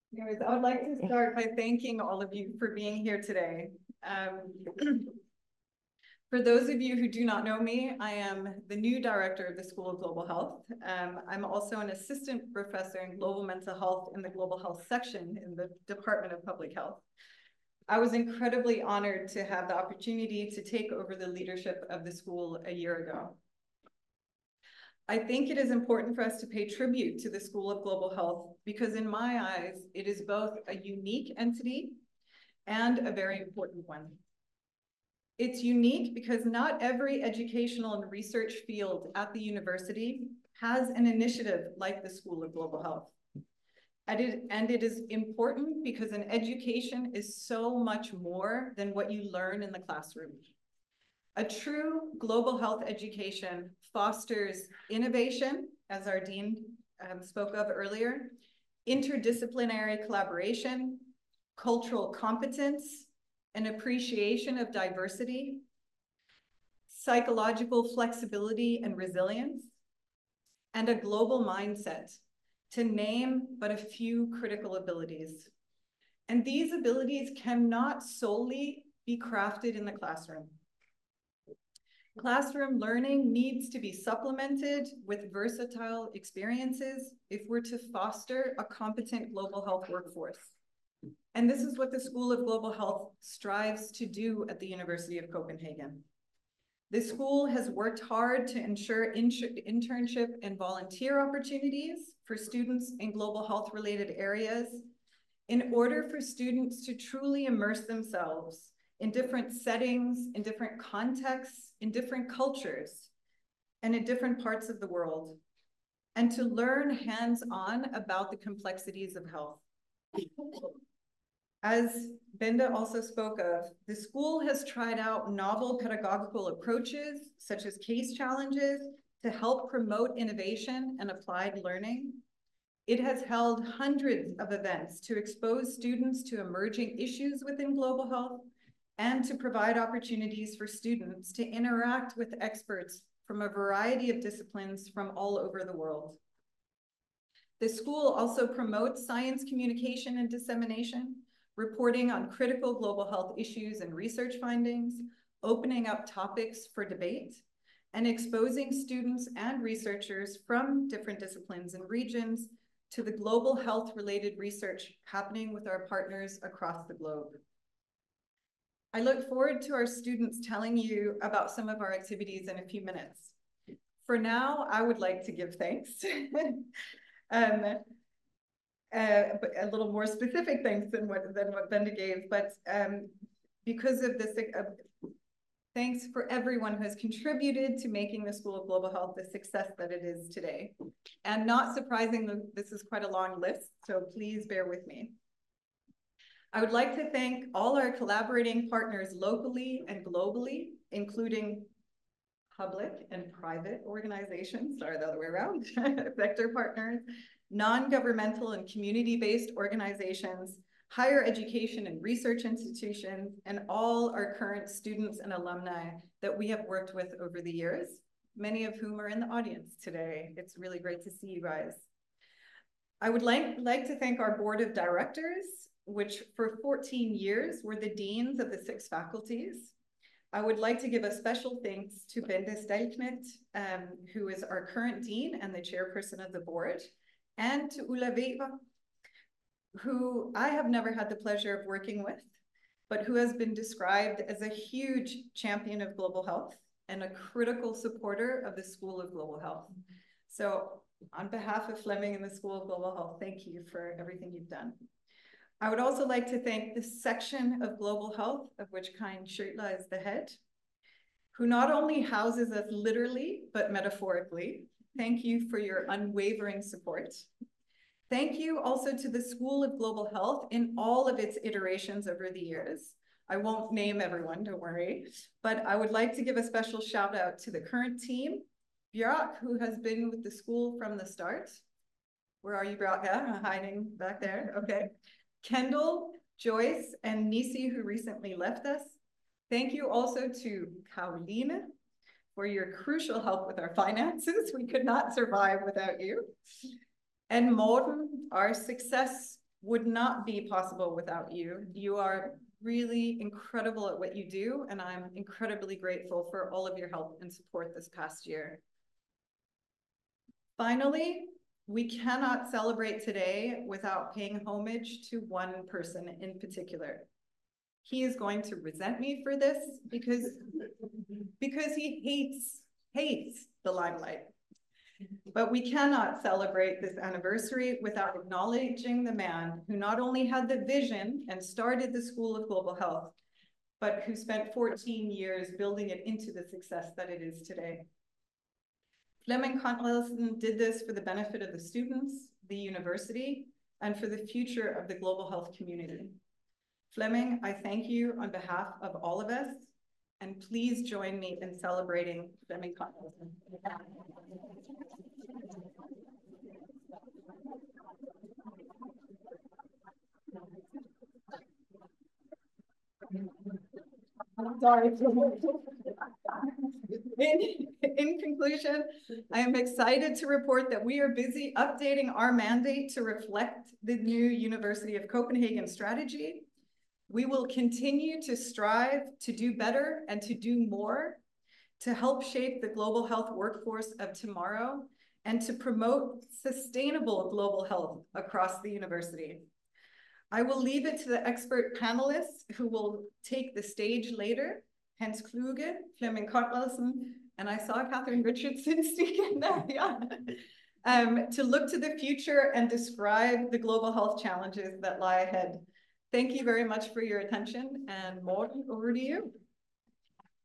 Anyways, I would like to start by thanking all of you for being here today. For those of you who do not know me, I am the new director of the School of Global Health. I'm also an assistant professor in global mental health in the global health section in the Department of Public Health. I was incredibly honored to have the opportunity to take over the leadership of the school a year ago. I think it is important for us to pay tribute to the School of Global Health because in my eyes, it is both a unique entity and a very important one. It's unique because not every educational and research field at the university has an initiative like the School of Global Health. And it is important because an education is so much more than what you learn in the classroom. A true global health education fosters innovation, as our dean spoke of earlier, interdisciplinary collaboration, cultural competence, an appreciation of diversity, psychological flexibility and resilience, and a global mindset, to name but a few critical abilities. And these abilities cannot solely be crafted in the classroom. Classroom learning needs to be supplemented with versatile experiences if we're to foster a competent global health workforce. And this is what the School of Global Health strives to do at the University of Copenhagen. The school has worked hard to ensure internship and volunteer opportunities for students in global health related areas in order for students to truly immerse themselves in different settings, in different contexts, in different cultures, and in different parts of the world, and to learn hands-on about the complexities of health. As Benda also spoke of, the school has tried out novel pedagogical approaches, such as case challenges, to help promote innovation and applied learning. It has held hundreds of events to expose students to emerging issues within global health and to provide opportunities for students to interact with experts from a variety of disciplines from all over the world. The school also promotes science communication and dissemination, reporting on critical global health issues and research findings, opening up topics for debate, and exposing students and researchers from different disciplines and regions to the global health-related research happening with our partners across the globe. I look forward to our students telling you about some of our activities in a few minutes. For now, I would like to give thanks. But a little more specific thanks than what Benda gave, but because of this, thanks for everyone who has contributed to making the School of Global Health the success that it is today. And not surprisingly, this is quite a long list, so please bear with me. I would like to thank all our collaborating partners locally and globally, including public and private organizations, sorry, the other way around, sector partners, non-governmental and community-based organizations, higher education and research institutions, and all our current students and alumni that we have worked with over the years, many of whom are in the audience today. It's really great to see you guys. I would like to thank our board of directors, which for 14 years were the deans of the 6 faculties. I would like to give a special thanks to Benda Stelknecht, who is our current dean and the chairperson of the board, and to Ulla Weber, who I have never had the pleasure of working with, but who has been described as a huge champion of global health and a critical supporter of the School of Global Health. So on behalf of Fleming and the School of Global Health, thank you for everything you've done. I would also like to thank the section of Global Health, of which Karin Schüttler is the head, who not only houses us literally, but metaphorically. Thank you for your unwavering support. Thank you also to the School of Global Health in all of its iterations over the years. I won't name everyone, don't worry, but I would like to give a special shout out to the current team, Björk, who has been with the school from the start. Where are you, Björk? Yeah, hiding back there, okay. Kendall, Joyce, and Nisi, who recently left us. Thank you also to Caroline for your crucial help with our finances. We could not survive without you. And Morten, our success would not be possible without you. You are really incredible at what you do, and I'm incredibly grateful for all of your help and support this past year. Finally, we cannot celebrate today without paying homage to one person in particular. He is going to resent me for this because he hates the limelight. But we cannot celebrate this anniversary without acknowledging the man who not only had the vision and started the School of Global Health, but who spent 14 years building it into the success that it is today. Flemming Conradsen did this for the benefit of the students, the university, and for the future of the global health community. Flemming, I thank you on behalf of all of us, and please join me in celebrating Flemming Conradsen. Sorry. In conclusion, I am excited to report that we are busy updating our mandate to reflect the new University of Copenhagen strategy. We will continue to strive to do better and to do more to help shape the global health workforce of tomorrow and to promote sustainable global health across the university. I will leave it to the expert panelists who will take the stage later, Hans Kluge, Flemming Conradsen, and I saw Catherine Richardson speaking there, yeah. To look to the future and describe the global health challenges that lie ahead. Thank you very much for your attention, and Morten, over to you.